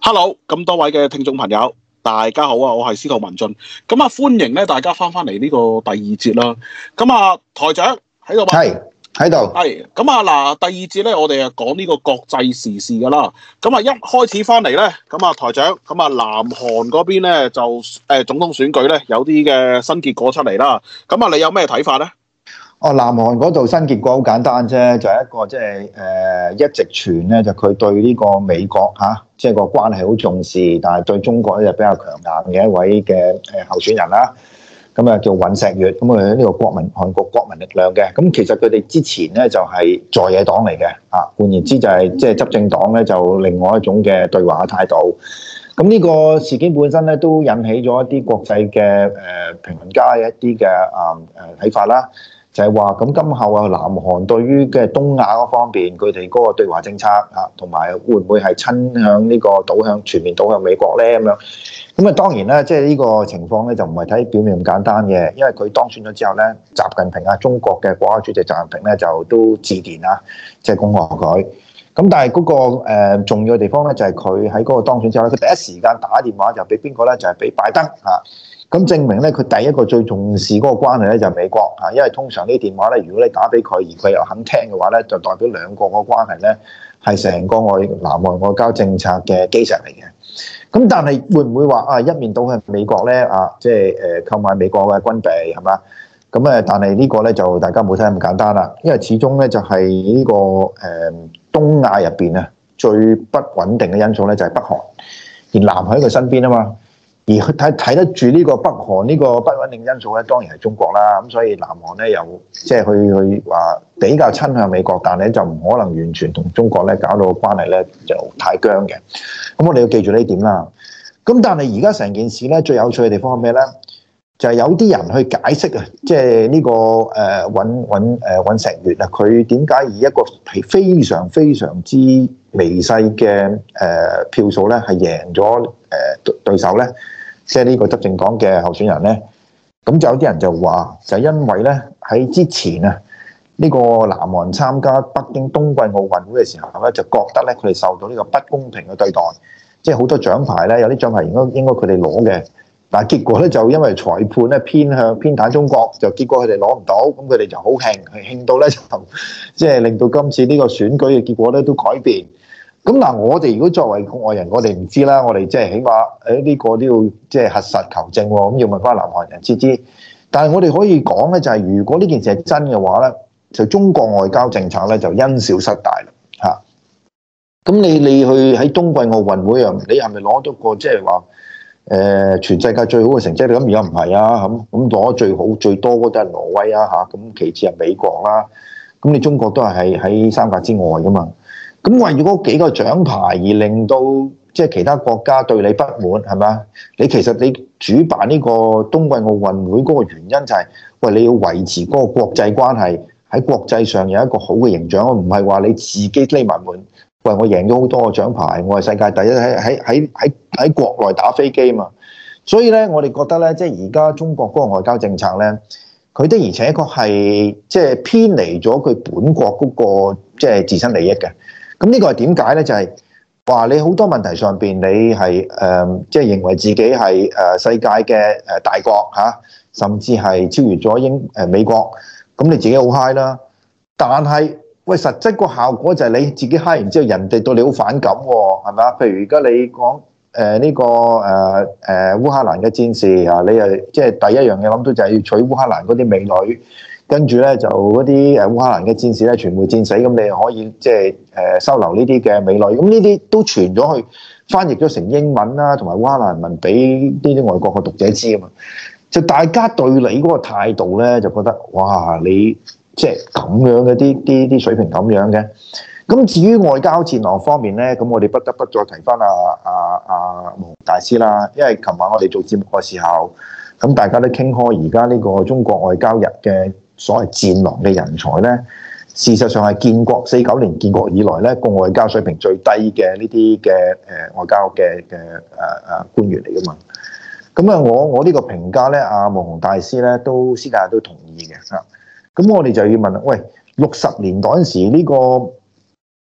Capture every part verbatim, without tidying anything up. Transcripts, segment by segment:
Hello，咁多位嘅聽眾朋友，大家好啊！我係司徒文進，咁啊歡迎咧大家翻翻嚟呢個第二節啦。咁啊台長喺度嘛？ 係喺度。 係咁啊嗱，第二節咧我哋啊講呢個國際時事噶啦。咁啊一開始翻嚟咧，咁啊台長，咁啊南韓嗰邊咧就誒、呃、總統選舉咧有啲嘅新結果出嚟啦。咁啊你有咩睇法咧？ 哦，南韓嗰度新結果好簡單啫，就係、是、一個即係誒一直傳咧，就佢對呢個美國嚇，即、啊、係、就是、個關係好重視，但係對中國咧就比較強硬嘅一位嘅誒候選人啦。咁啊叫尹錫悅，咁啊呢個國民韓國國民力量嘅。咁其實佢哋之前咧就係在野黨嚟嘅，啊換言之就係即係執政黨咧就另外一種嘅對華嘅態度。咁呢個事件本身咧都引起咗一啲國際嘅誒評論家嘅一啲嘅啊誒睇法啦。就係話咁，今後啊，南韓對於嘅東亞嗰方面，佢哋嗰個對華政策啊，同埋會唔會係親向呢個倒向全面倒向美國咧？咁樣咁啊，當然啦，即係呢個情況咧，就唔係睇表面咁簡單嘅，因為佢當選咗之後咧，習近平啊，中國嘅國家主席習近平咧，就都致電啊，即係恭賀佢。咁但係嗰個誒重要嘅地方咧，就係佢喺嗰個當選之後咧，佢第一時間打電話就俾邊個咧？就係俾拜登啊。咁證明咧，佢第一個最重視嗰個關係咧就係美國啊，因為通常呢啲電話咧，如果你打俾佢而佢又肯聽嘅話咧，就代表兩個個關係咧係成個外南韓外交政策嘅基石嚟嘅。咁但係會唔會話啊一面倒向美國咧啊？即係誒購買美國嘅軍備係嘛？咁誒，但係呢個咧就大家冇睇咁簡單啦，因為始終咧就係呢個誒東亞入邊啊最不穩定嘅因素咧就係北韓，而南韓喺佢身邊啊嘛。而佢睇睇得住呢個北韓呢個不穩定因素咧，當然係中國啦。咁所以南韓咧又即係去去話比較親向美國，但係就唔可能完全同中國咧搞到關係咧就太僵嘅。咁我哋要記住呢點啦。咁但係而家成件事咧最有趣嘅地方係咩咧？就係、是、有啲人去解釋啊，即係呢個誒尹尹誒尹錫悅啊，佢點解以一個係非常非常之微細嘅誒票數咧係贏咗誒對手咧？即係呢個執政黨嘅候選人咧，咁就有啲人就話，就因為咧喺之前啊，呢個南韓參加北京冬季奧運會嘅時候咧，就覺得咧佢哋受到呢個不公平嘅對待，即係好多獎牌咧，有啲獎牌應該應該佢哋攞嘅，但係結果咧就因為裁判咧偏向偏袒中國，就結果佢哋攞唔到，咁佢哋就好興，興到咧就即係令到今次呢個選舉嘅結果咧都改變。咁嗱，我哋如果作為國外人，我哋唔知啦。我哋即係起碼誒呢個都要即係核實求證喎。咁要問翻南韓人知知。但係我哋可以講咧，就係如果呢件事係真嘅話咧，就中國外交政策咧就因小失大啦嚇。咁你你去喺冬季奧運會啊，你係咪攞到個即係話誒全世界最好嘅成績？咁而家唔係啊，咁咁攞最好最多嗰都係挪威啊嚇，咁其次係美國啦。咁你中國都係喺喺三甲之外噶嘛？咁為咗嗰幾個獎牌而令到即係其他國家對你不滿係嘛？你其實你主辦呢個冬季奧運會嗰個原因就係、是，喂你要維持嗰個國際關係喺國際上有一個好嘅形象，唔係話你自己匿埋門。喂，我贏咗好多個獎牌，我係世界第一，喺喺喺喺喺國內打飛機嘛。所以咧，我哋覺得咧，即係而家中國嗰個外交政策咧，佢的而且確係即係偏離咗佢本國嗰個即係自身利益嘅。咁呢個係點解咧？就係、是、話你好多問題上邊，你係誒即係認為自己係誒世界嘅誒大國嚇、啊，甚至係超越咗英誒美國，咁你自己好 high 啦。但係喂，實質個效果就係你自己 high 完之後，人哋對你好反感喎，係咪啊？譬如而家你講誒呢個誒誒、呃呃、烏克蘭嘅戰事啊，你誒即係第一樣嘢諗到就係要娶烏克蘭嗰啲美女。跟住咧就嗰啲誒烏克蘭嘅戰士咧全部戰死，咁你又可以即係誒收留呢啲嘅美女，咁呢啲都傳咗去翻譯咗成英文啦，同埋烏克蘭文俾呢啲外國嘅讀者知啊嘛。就大家對你嗰個態度咧，就覺得哇，你即係咁樣嘅啲啲啲水平咁樣嘅。咁至於外交戰略方面咧，咁我哋不得不再提翻阿阿阿毛雄大師啦，因為琴晚我哋做節目嘅時候，咁大家都傾開而家呢個中國外交日嘅。所謂戰狼嘅人才咧，事實上係建國四九年建國以來咧，個外交水平最低嘅呢啲嘅誒外交嘅嘅誒誒官員嚟噶嘛。咁啊，我我呢個評價咧，阿毛雄大師咧都私底下都同意嘅嚇。咁我哋就要問啦，喂，六十年代嗰陣時呢個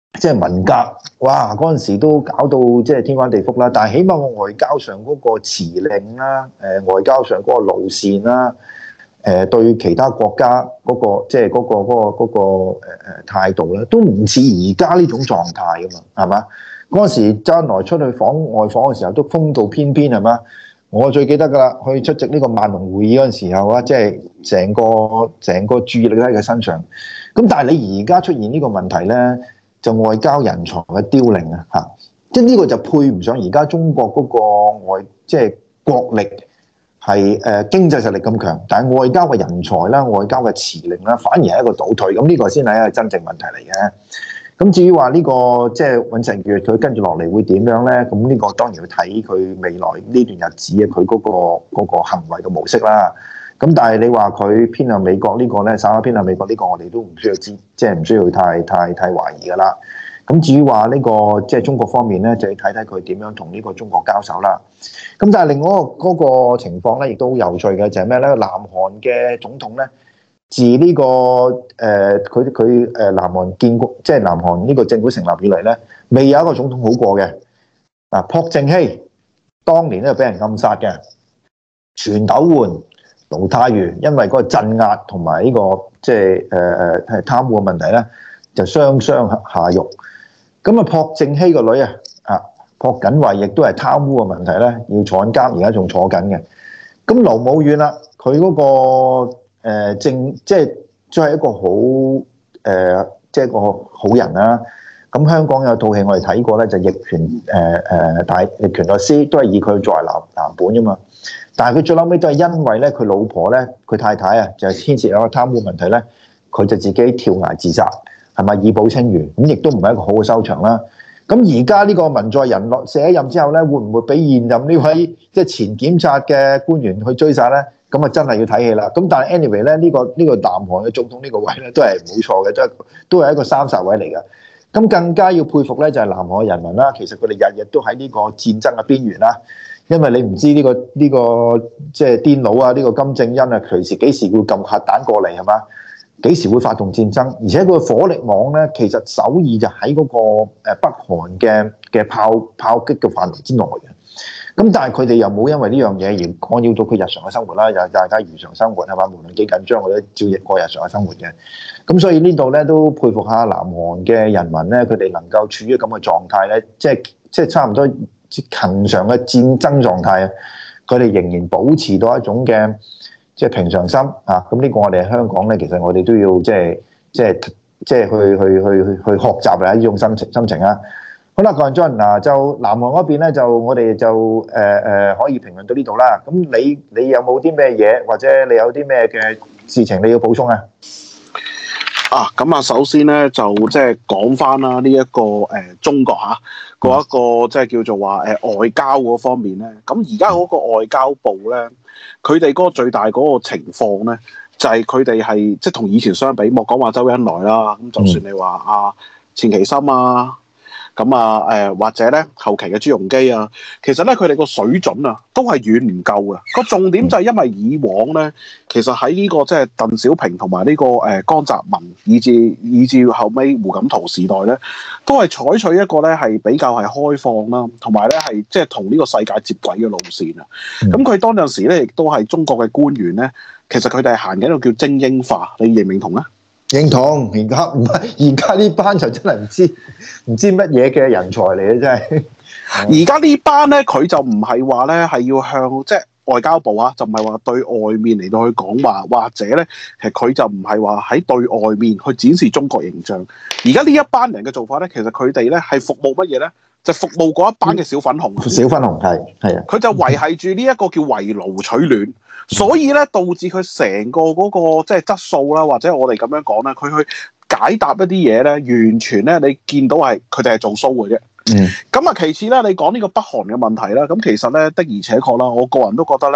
即係文革，哇！嗰陣時都搞到即係天翻地覆啦。但係起碼我外交上嗰個辭令啦，誒、外交上嗰個路線啦，誒、對其他國家嗰、個即係嗰個嗰、個嗰、個誒誒態度咧，都唔似而家呢種狀態噶嘛，係嘛？嗰陣時周恩來出去訪外訪嘅時候都風度翩翩，係嘛？我最記得噶啦，去出席呢個萬隆會議嗰陣時候啊，即係成個成個注意力都喺佢身上。咁但係你而家出現呢個問題咧，就外交人才嘅凋零啊，嚇！即係呢個就配唔上而家中國嗰個外即係國力係誒、呃、經濟實力咁強，但係外交嘅人才啦、外交嘅辭令啦，反而係一個倒退。咁呢個先係一個真正問題嚟嘅。咁至於話呢個即係尹錫悅佢跟住落嚟會點樣咧？咁呢個當然要睇佢未來呢段日子嘅佢嗰個嗰個行為嘅模式啦。咁但係你話佢偏向美國呢個咧，稍微偏向美國呢個，我哋都唔需要知，即係唔需要太太太懷疑噶啦。咁至於話呢個即係中國方面咧，就要睇睇佢點樣同呢個中國交手啦。咁但係另外嗰個情況咧，亦都好有趣嘅就係咩咧？南韓嘅總統咧，自呢個誒佢佢誒南韓建國，即係南韓呢個政府成立以嚟咧，未有一個總統好過嘅。嗱，朴正熙當年咧俾人暗殺嘅，全斗煥、盧泰愚因為嗰個鎮壓同埋呢個即係誒誒係貪污嘅問題咧，就雙雙下獄。咁啊，朴正熙個女啊，啊朴槿惠亦都係貪污嘅問題咧，要坐緊監，而家仲坐緊嘅。咁盧武鉉啦，佢嗰、那個。誒、呃、正即係都係一個好誒、呃，即係一個好人啦、啊。咁香港有套戲我哋睇過咧，就《逆權》誒誒大逆權律師，都係以佢作為藍藍本啫嘛。但係佢最後尾都係因為咧，佢老婆咧，佢太太啊，就係牽涉有個貪污問題咧，佢就自己跳崖自殺，係咪以保清譽？咁亦都唔係一個好嘅收場啦。咁而家呢個文在寅落卸任之後咧，會唔會俾現任呢位即係前檢察嘅官員去追殺咧？咁啊，真係要睇戲啦。咁但係 anyway 咧，呢個呢個南韓嘅總統呢個位咧，都係冇錯嘅，都係都係一個三煞位嚟嘅。咁更加要佩服咧，就係南韓嘅人民啦。其實佢哋日日都喺呢個戰爭嘅邊緣啦。因為你唔知呢個呢個即係癲佬啊，呢個金正恩啊，隨時幾時會撳核彈過嚟係嘛？幾時會發動戰爭？而且佢火力網咧，其實首爾就喺嗰個誒北韓嘅嘅炮炮擊嘅範圍之內嘅。咁但係佢哋又冇因為呢樣嘢而干擾到佢日常嘅生活啦，又大家如常生活係嘛？無論幾緊張，我都照日過日常嘅生活嘅。咁所以呢度咧都佩服下南韓嘅人民咧，佢哋能夠處於咁嘅狀態咧，即係即係差唔多恆常嘅戰爭狀態啊！佢哋仍然保持到一種嘅即係平常心啊！咁呢個我哋喺香港咧，其實我哋都要即係即係即係去去去去去學習啊呢種心情心情啊！好啦，郭俊嗱，就南韓嗰邊咧，就我哋就誒誒、呃、可以評論到呢度啦。咁你你有冇啲咩嘢，或者你有啲咩嘅事情你要補充啊？ 啊，咁啊，首先咧就即係講翻啦，呢一個誒、呃、中國嚇嗰一個即係叫做話誒、呃、外交嗰方面咧。咁而家嗰個外交部咧，佢哋嗰個最大嗰個情況咧，就係佢哋係即係同以前相比，莫講話周恩來啦，咁就算你話啊錢其琛啊。咁啊，誒、呃、或者咧後期嘅朱鎔基啊，其實咧佢哋個水準啊，都係遠唔夠嘅。個重點就係因為以往咧，其實喺呢、這個即係鄧小平同埋呢個誒、呃、江澤民，以至以至後尾胡錦濤時代咧，都係採取一個咧係比較係開放啦，同埋咧係即係同呢個世界接軌嘅路線啊。咁佢、嗯、當陣時咧，亦都係中國嘅官員咧，其實佢哋係行緊一個叫精英化，你認唔認同咧？ 認同，而家唔係而家呢班就真係唔知唔知乜嘢嘅人才嚟嘅，真係。 而家呢班咧，佢就唔係話咧係要向即係外交部啊，就唔係話對外面嚟到去講話，或者咧其實佢就唔係話喺對外面去展示中國形象。而家呢一班人嘅做法咧，其實佢哋咧係服務乜嘢咧？就服務嗰一班嘅小粉紅。 小粉紅係係啊， 佢就維係住呢一個叫圍爐取暖。所以咧，導致佢成個嗰、那個即係質素啦，或者我哋咁樣講咧，佢去解答一啲嘢咧，完全咧你見到係佢哋係做 show 嘅啫。嗯。咁啊，其次咧，你講呢個北韓嘅問題啦，咁其實咧的而且確啦，我個人都覺得咧，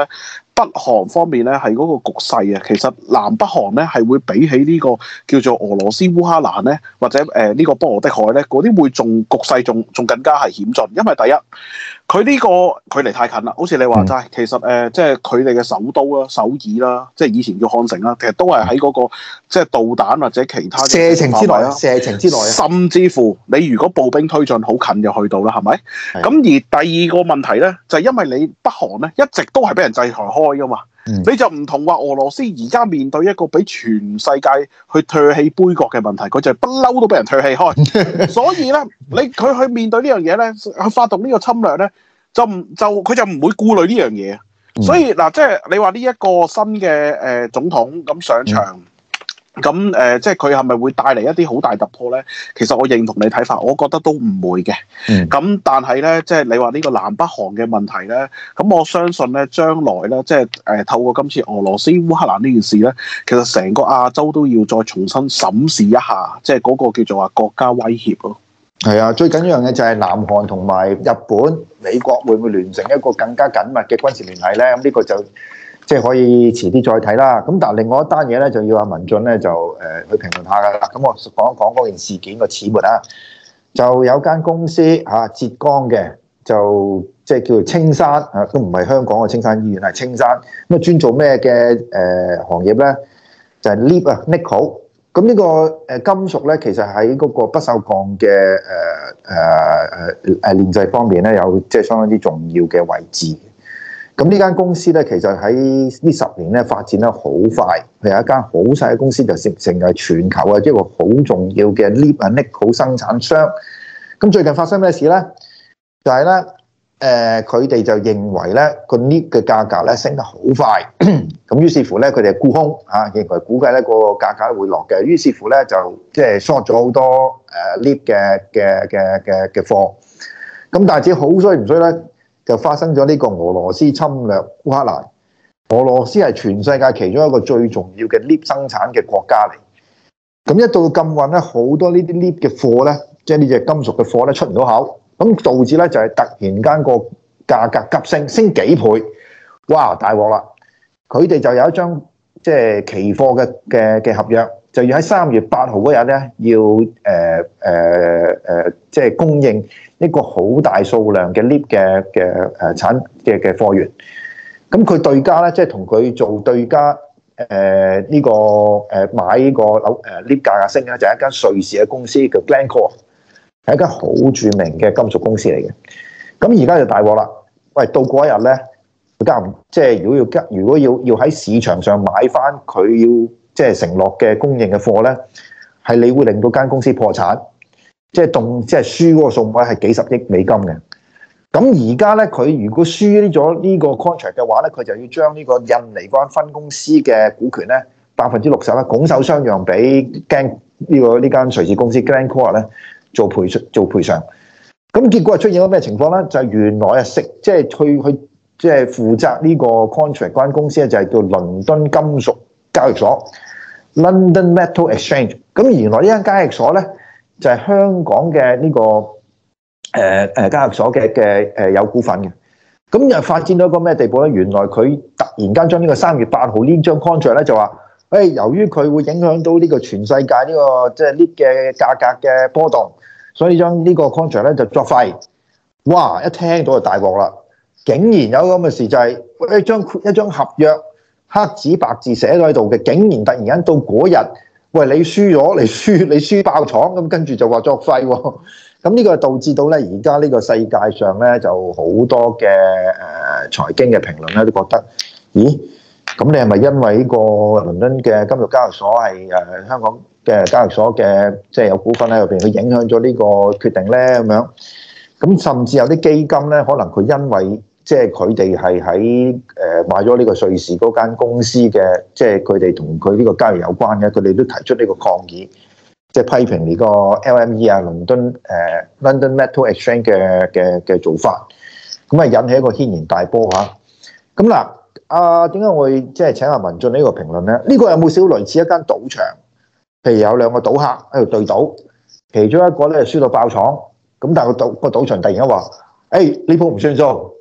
北韓方面咧係嗰個局勢啊，其實南北韓咧係會比起呢個叫做俄羅斯烏克蘭咧，或者誒呢、呃這個波羅的海咧，嗰啲會仲局勢仲仲更加係險峻，因為第一佢呢個距離太近啦，好似你話齋，其實誒、呃、即係佢哋嘅首都啦、首爾啦，即係以前叫漢城啦，其實都係喺嗰個即係導彈或者其他射程之內啊，射程之內啊， 甚至乎你如果步兵推進好近就去到啦，係咪？咁而第二個問題咧，就係、是、因為你北韓咧一直都係俾人制裁開噶嘛。嗯、你就唔同話俄羅斯而家面對一個俾全世界去唾棄杯葛嘅問題，佢就不嬲都俾人唾棄開。所以咧，你佢去面對呢樣嘢咧，去發動呢個侵略咧，就唔就佢就唔會顧慮呢樣嘢。嗯、所以嗱，即係你話呢一個新嘅誒、呃、總統咁上場。嗯咁誒、呃，即係佢係咪會帶嚟一啲好大突破咧？其實我認同你睇法，我覺得都唔會嘅。咁、嗯、但係咧，即係你話呢個南北韓嘅問題咧，咁我相信咧，將來咧，即係誒、呃、透過今次俄羅斯烏克蘭呢件事咧，其實成個亞洲都要再重新審視一下，即係嗰個叫做話國家威脅咯。 係啊，最緊要嘅就係南韓同埋日本、美國會唔會聯成一個更加緊密嘅軍事聯繫咧？咁呢個就即係可以遲啲再睇啦。咁但係另外一單嘢咧，就要阿文進咧就誒、呃、去評論下噶啦。咁我講一講嗰件事件個始末啊。就有間公司嚇、啊、浙江嘅，就即係叫做青山啊，都唔係香港嘅青山醫院，係青山。咁啊專做咩嘅誒行業咧？就係 lead 啊 nickel。咁呢個誒金屬咧，其實喺嗰個不鏽鋼嘅誒誒誒誒煉製方面咧，有即係相當之重要嘅位置。咁呢間公司咧，其實喺呢十年咧發展得好快，佢有一間好細嘅公司就成成為全球嘅一個好重要嘅 lead and nickel 生產商。咁最近發生咩事咧？就係咧，誒佢哋就認為咧個 lead 嘅價格咧升得好快，咁於是乎咧佢哋沽空嚇，認為估計咧個價格會落嘅，於是乎咧就即係 short 咗好多誒 lead 嘅嘅嘅嘅嘅貨。咁但係只好衰唔衰咧？就發生咗呢個俄羅斯侵略烏克蘭。俄羅斯係全世界其中一個最重要嘅 lead 生產嘅國家嚟。咁一到禁運咧，好多呢啲 lead 嘅貨咧，即係呢隻金屬嘅貨咧出唔到口，咁導致咧就係突然間個價格急升，升幾倍，哇大鑊啦！佢哋就有一張即係期貨嘅嘅嘅合約，就要喺三月八號嗰日咧，要誒誒誒，即係供應一個好大數量嘅 lead 嘅嘅誒產嘅嘅貨源。咁佢對家咧，即係同佢做對家，誒、呃、呢、這個誒、呃、買呢個樓誒 lead 價格升咧，就係、是、一間瑞士嘅公司叫 Glencore， 係一間好著名嘅金屬公司嚟嘅。咁而家就大鑊啦！喂，到嗰一日咧，加唔即係如果要加，如果要要喺市場上買翻佢要即係承諾嘅供應嘅貨咧，係你會令到間公司破產，即係動即係輸嗰個數目係幾十億美金嘅。咁而家咧，佢如果輸咗呢個 contract 嘅話咧，佢就要將呢個印尼嗰間分公司嘅股權咧，百分之六十咧拱手相讓俾 Glen 呢個呢間瑞士公司 Glencore 咧做賠做賠償。咁結果係出現咗咩情況咧？就係、是、原來啊，食即係去去即係負責呢個 contract 嗰間公司咧，就係叫倫敦金屬交易所 （London Metal Exchange）。咁原來呢間交易所咧，就係、是、香港嘅呢、這個誒誒、呃、交易所嘅嘅誒有股份嘅。咁又發展到一個咩地步咧？原來佢突然間將呢個三月八號呢張 contract 咧就話，誒、哎、由於佢會影響到呢個全世界呢、這個即係 lead 嘅價格嘅波動。所以將呢個 contract 咧就作廢，哇！一聽到就大鑊啦，竟然有咁嘅事就係、是、一張一張合約黑紙白字寫咗喺度嘅，竟然突然間到嗰日，喂你輸咗，你輸你輸爆廠，咁跟住就話作廢喎，咁呢個導致到咧而家呢個世界上咧就好多嘅誒財經嘅評論咧都覺得，咦？咁你係咪因為呢個倫敦嘅金融交易所係誒香港嘅交易所嘅即係有股份喺入邊，佢影響咗呢個決定咧咁樣？咁甚至有啲基金咧，可能佢因為即係佢哋係喺誒買咗呢個瑞士嗰間公司嘅，即係佢哋同佢呢個交易有關嘅，佢哋都提出呢個抗議，即係批評呢個 L M E 啊，倫敦誒 London Metal Exchange 嘅嘅嘅做法，咁啊引起一個軒然大波嚇。咁嗱。啊，點解我會即係請阿文進呢個評論咧？呢、這個有冇少類似一間賭場？譬如有兩個賭客喺度對賭，其中一個咧輸到爆廠，咁但係個賭個賭場突然間話：誒呢鋪唔算數，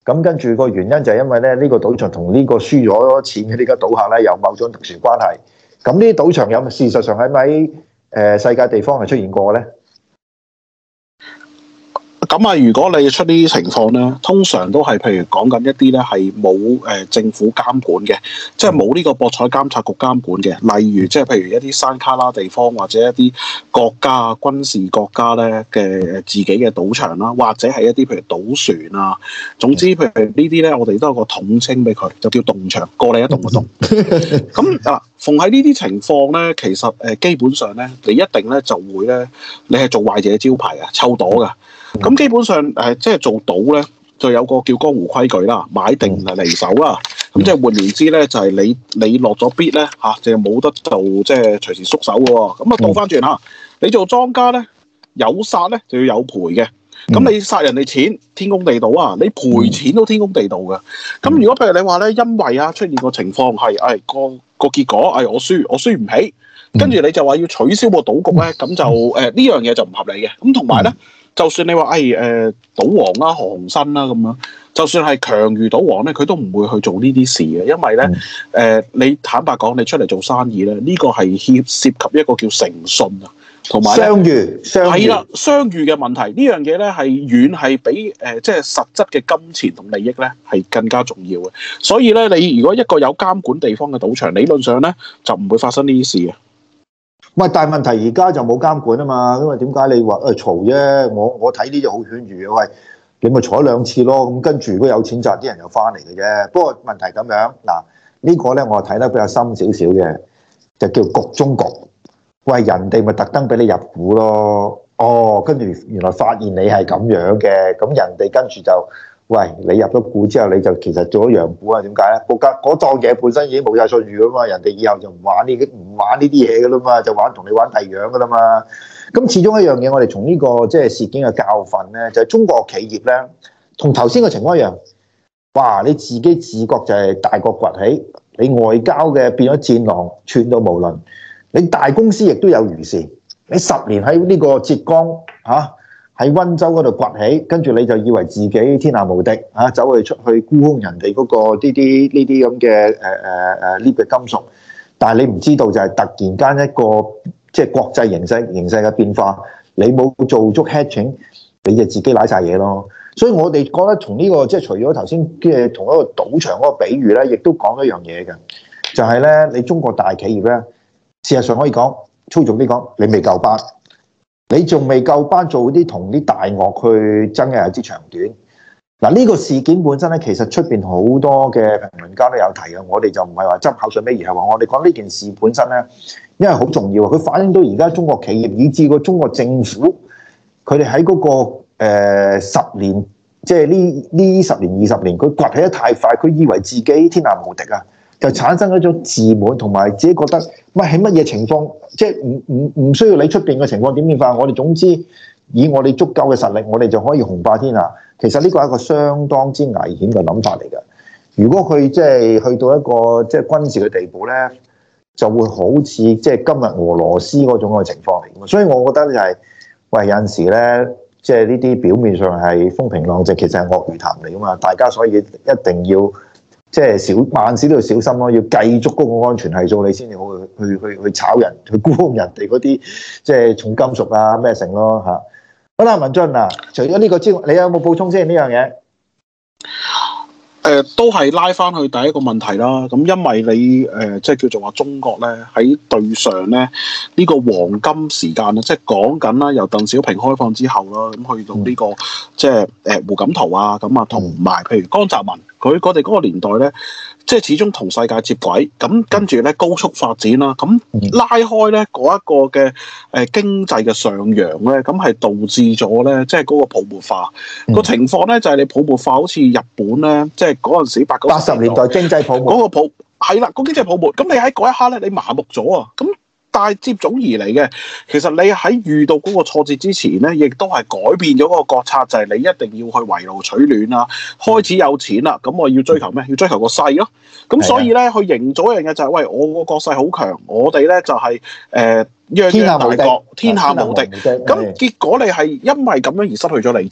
咁跟住個原因就係因為咧，呢、這個賭場同呢個輸咗錢嘅呢家賭客咧有某種特殊關係。咁呢啲賭場有事實上喺咪誒世界地方係出現過咧？ 咁啊，如果你出呢啲情況咧，通常都係譬如講緊一啲咧係冇誒政府監管嘅，即係冇呢個博彩監察局監管嘅。例如即係譬如一啲山卡拉地方或者一啲國家啊、軍事國家咧嘅自己嘅賭場啦，或者係一啲譬如賭船啊，總之譬如呢啲咧，我哋都有個統稱俾佢，就叫動場，過你一動就動。咁啊，逢喺呢啲情況咧，其實誒基本上咧，你一定咧就會咧，你係做壞者招牌啊，抽朵㗎。咁基本上誒，即係做賭咧，就有個叫江湖規矩啦，買定離手啦。咁即係換言之咧，就係、是、你你落咗 bid 咧嚇，就冇得做即係隨時縮手嘅喎。咁啊倒翻轉嚇，你做莊家咧，有殺咧就要有賠嘅。咁你殺人哋錢，天公地道啊！你賠錢都天公地道嘅。咁如果譬如你話咧，因為啊出現個情況係誒個個結果係、哎、我輸，我輸唔起，跟住你就話要取消個賭局咧，咁就誒呢樣嘢就唔合理嘅。咁同埋咧。就算你話誒誒賭王啦、何鴻燊啦咁樣，就算係強如賭王咧，佢都唔會去做呢啲事嘅，因為咧誒、呃，你坦白講，你出嚟做生意咧，呢、這個係涉涉及一個叫誠信啊，同埋商譽， 係啦，商譽嘅問題呢樣嘢咧係遠係比誒、呃、即係實質嘅金錢同利益咧係更加重要嘅，所以咧你如果一個有監管地方嘅賭場，理論上咧就唔會發生呢啲事嘅。 喂，但係問題而家就冇監管啊嘛，因為點解你話誒嘈啫？我我睇呢啲好犬儒嘅，喂，你咪坐兩次咯，咁跟住如果有錢賺，啲人又翻嚟嘅啫。不過問題咁樣，嗱、這個、呢個咧我睇得比較深少少嘅，就叫局中局。喂，人哋咪特登俾你入股咯，哦，跟住原來發現你係咁樣嘅，咁人哋跟住就。喂，你入咗股之後，你就其實做咗洋股啊？點解咧？嗰間嗰檔嘢本身已經冇晒信譽噶嘛，人哋以後就唔玩呢啲唔玩呢啲嘢噶啦嘛，就玩同你玩第二樣噶啦嘛。咁始終一樣嘢，我哋從呢個即係事件嘅教訓咧，就係中國企業咧，同頭先嘅情況一樣。哇！你自己自覺就係大國崛起，你外交嘅變咗戰狼，串到無論。你大公司亦都有如是。你十年喺呢個浙江嚇。啊喺溫州嗰度崛起，跟住你就以為自己天下無敵啊！走去出去沽空人哋嗰個呢啲呢啲咁嘅誒誒誒呢嘅金屬，但係你唔知道就係突然間一個即係國際形勢形勢嘅變化，你冇做足 hedging，你就自己瀨晒嘢咯。所以我哋覺得從呢個即係除咗頭先嘅同一個賭場嗰個比喻咧，亦都講一樣嘢嘅，就係咧你中國大企業咧，事實上可以講粗俗啲講，你未夠班。你仲未夠班做啲同啲大鱷去爭嘅一支長短。嗱，呢個事件本身咧，其實出邊好多嘅評論家都有提嘅，我哋就唔係話執口水尾，而係話我哋講呢件事本身咧，因為好重要啊，佢反映到而家中國企業以至個中國政府，佢哋喺嗰個誒、呃、十年，即係呢呢十年二十年，佢崛起得太快，佢以為自己天下無敵啊！就產生一種自滿，同埋自己覺得乜喺乜嘢情況，即係唔唔唔需要你出邊嘅情況點變化，我哋總之以我哋足夠嘅實力，我哋就可以雄霸天下。其實呢個係一個相當之危險嘅諗法嚟嘅。如果佢即係去到一個即係軍事嘅地步咧，就會好似即係今日俄羅斯嗰種嘅情況嚟嘅。所以我覺得就係、是，喂，有陣時咧，即係呢啲表面上係風平浪靜，其實係鱷魚潭嚟噶嘛。大家所以一定要。即係小萬事都要小心咯，要計足嗰個安全係數，你先至好去去去去炒人，去沽空人哋嗰啲即係重金屬啊咩成咯嚇。好啦，文進啊，除咗呢個之外，你有冇補充先呢樣嘢？ 誒、呃、都係拉翻去第一個問題啦。咁因為你誒、呃、即係叫做話中國咧喺對上咧呢、呢個黃金時間咧，即係講緊啦，由鄧小平開放之後啦，咁去到呢、呢個、嗯、即係誒、呃、胡錦濤啊，咁啊同埋譬如江澤民，佢我哋嗰個年代咧，即係始終同世界接軌，咁跟住咧高速發展啦，咁拉開咧嗰一個嘅誒、呃、經濟嘅上揚咧，咁係導致咗咧即係嗰個泡沫化、嗯、個情況咧，就係、是、你泡沫化好似日本咧，即係嗰陣時八九八十年代經濟泡沫嗰個泡係啦，個經濟泡沫，咁你喺嗰一刻咧，你麻木咗啊，咁。但係接踵而嚟嘅，其實你喺遇到嗰個挫折之前咧，亦都係改變咗嗰個國策，就係、是、你一定要去圍爐取暖啦。開始有錢啦，咁我要追求咩？要追求個勢咯。咁所以咧，去營造一樣嘢就係、是，喂，我個國勢好強，我哋咧就係誒泱泱大國，天下無敵。咁結果你係因為咁樣而失去咗理智。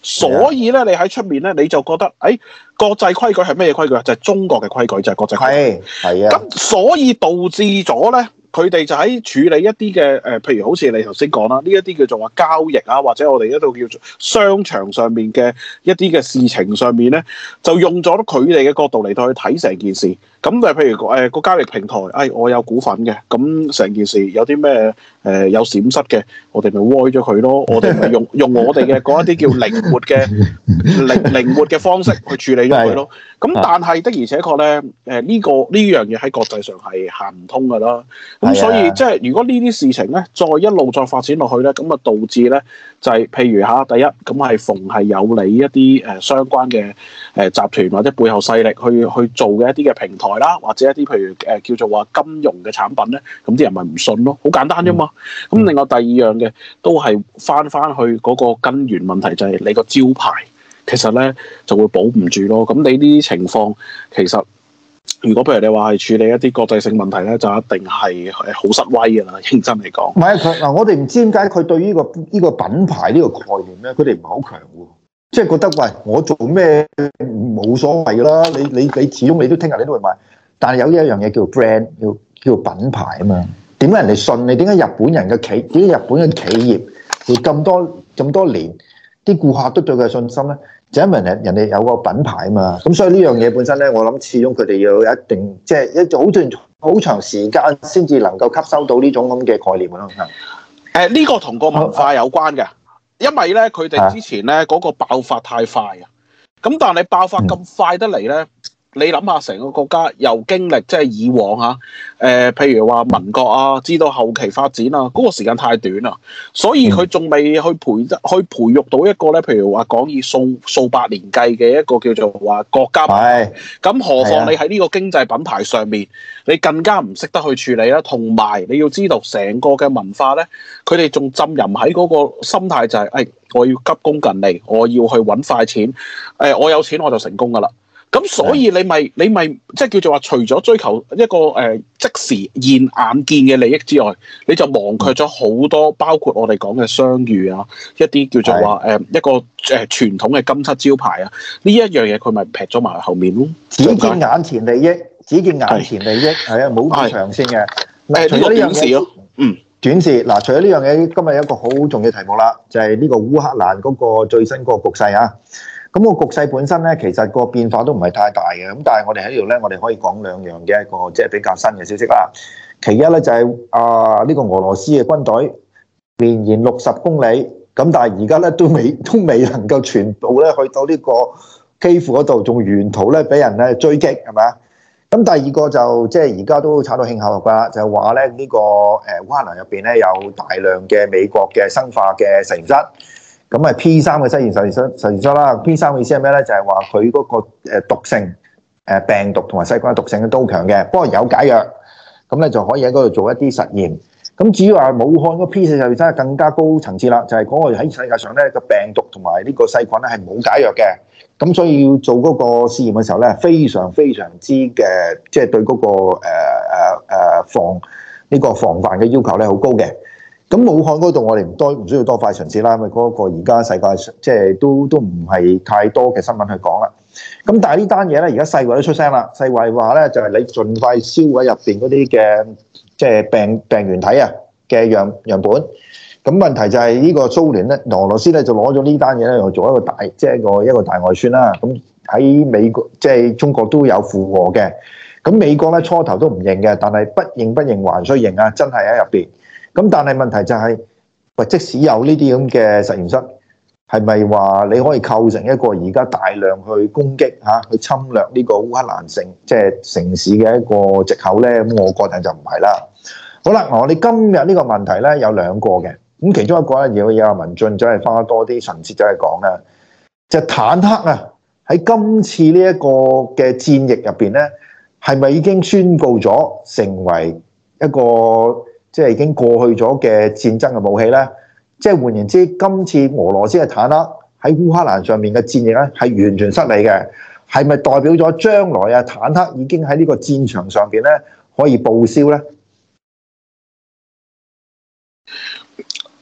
所以咧，你喺出面咧，你就覺得，誒、哎、國際規矩係咩規矩啊？就係、是、中國嘅規矩，就係、是、國際規矩。 係啊。 咁所以導致咗咧，佢哋就喺處理一啲嘅誒，譬如好似你頭先講啦，呢一啲叫做話交易啊，或者我哋一度叫做商場上面嘅一啲嘅事情上面咧，就用咗佢哋嘅角度嚟到去睇成件事。咁就譬如誒個、呃、交易平台，誒、哎、我有股份嘅，咁成件事有啲咩誒有閃失嘅，我哋咪歪咗佢咯，我哋咪用用我哋嘅嗰一啲叫靈活嘅靈靈活嘅方式去處理咗佢咯。咁但係的而且確咧，誒、呃、呢、這個呢樣嘢喺國際上係行唔通㗎啦。咁所以即係如果呢啲事情咧，再一路再發展落去咧，咁啊導致咧就係、是、譬如嚇第一，咁係逢係有利一啲誒、呃、相關嘅誒、呃、集團或者背後勢力去去做嘅一啲嘅平台啦，或者一啲譬如誒、呃、叫做話金融嘅產品咧，咁啲人咪唔信咯，好簡單啫嘛。咁、嗯、另外第二樣嘅都係翻翻去嗰個根源問題，就係你個招牌其實咧就會保唔住咯。咁你呢啲情況其實。如果譬如你話係處理一啲國際性問題咧，就一定係係好失威㗎啦。認真嚟講， 唔係佢嗱，我哋唔知點解佢對於呢個呢個品牌呢個概念咧，佢哋唔係好強喎。即係覺得喂，我做咩冇所謂㗎啦。你你你始終你都聽日你都會買。但係有一樣嘢叫 brand，叫叫品牌啊嘛。點解人哋信你？點解日本人嘅企點解日本嘅企業會咁多咁多年啲顧客都對佢有信心咧？就因為人人哋有個品牌啊嘛，咁所以呢樣嘢本身咧，我諗始終佢哋要有一定即係一好段好長時間先至能夠吸收到呢種咁嘅概念咯。誒、 呃，呢、這個同個文化有關嘅，因為咧佢哋之前咧嗰、那個爆發太快啊，咁但係你爆發咁快得嚟咧。嗯你諗下，成個國家又經歷即係以往嚇，誒、呃，譬如話民國啊，至到後期發展啊，嗰、那個時間太短啦，所以佢仲未去培去培育到一個咧，譬如話講以數數百年計嘅一個叫做話國家品牌。咁何況你喺呢個經濟品牌上面，你更加唔識得去處理啦。同埋你要知道，成個嘅文化咧，佢哋仲浸淫喺嗰個心態就係、是，誒、哎，我要急功近利，我要去揾快錢，誒、哎，我有錢我就成功噶啦。咁所以你咪你咪即係叫做話，除咗追求一個誒、呃、即時現眼見嘅利益之外，你就忘卻咗好多，包括我哋講嘅商譽啊，一啲叫做話誒、呃、一個誒傳統嘅金漆招牌啊，呢一樣嘢佢咪劈咗埋後面咯。 只見眼前利益，只見眼前利益，係啊，冇咁長線嘅。 誒，除咗呢樣嘢咯，嗯， 短視嗱，除咗呢樣嘢，今日有一個好重要題目啦，就係、是、呢個烏克蘭嗰個最新嗰個局勢啊。咁個局勢本身咧，其實個變化都唔係太大嘅。咁但係我哋喺呢度咧，我哋可以講兩樣嘅一個即係比較新嘅消息啦。其一咧就係啊呢個俄羅斯嘅軍隊綿延六十公里，咁但係而家咧都未都未能夠全部咧去到呢個基輔嗰度，仲沿途咧俾人咧追擊，係咪啊？咁第二個就即係而家都炒到興口㗎，就係話咧呢個誒烏克蘭入邊咧有大量嘅美國嘅生化嘅實驗室。咁啊 P 三嘅實驗實驗室實驗室啦 ，P 三嘅意思係咩咧？就係話佢嗰個誒毒性誒病毒同埋細菌嘅毒性都強嘅，不過有解藥，咁咧就可以喺嗰度做一啲實驗。咁至於話武漢嗰 P 四實驗室係更加高層次啦，就係嗰個喺世界上咧個病毒同埋呢個細菌咧係冇解藥嘅，咁所以要做嗰個試驗嘅時候咧，非常非常之嘅即係對嗰個誒誒誒防呢個防範嘅要求咧好高嘅。咁武漢嗰度我哋唔多唔需要多快巡視啦，因為嗰個而家世界即係都都唔係太多嘅新聞去講啦。咁但係呢單嘢咧，而家世衛都出聲啦。世衛話咧就係你盡快銷毀入邊嗰啲嘅即係病病原體啊嘅樣樣本。咁問題就係呢個蘇聯咧，俄羅斯咧就攞咗呢單嘢咧，又做一個大即係一個一個大外宣啦。咁喺美國即係中國都有附和嘅。咁美國咧初頭都唔認嘅，但係不認不認還需認啊，真係喺入邊。咁但係問題就係、是，喂，即使有呢啲咁嘅實驗室，係咪話你可以構成一個而家大量去攻擊嚇、啊、去侵略呢個烏克蘭城即係、就是、城市嘅一個藉口咧？咁我覺得就唔係啦。好啦，我哋今日呢個問題咧有兩個嘅，咁其中一個咧要有文進就係花多啲神節就係講啦，就係、坦克啊喺今次呢一個嘅戰役入邊咧，係咪已經宣告咗成為一個？即係已經過去咗嘅戰爭嘅武器咧，即係換言之，今次俄羅斯嘅坦克喺烏克蘭上面嘅戰役咧係完全失利嘅，係咪代表咗將來啊坦克已經喺呢個戰場上邊咧可以報銷咧？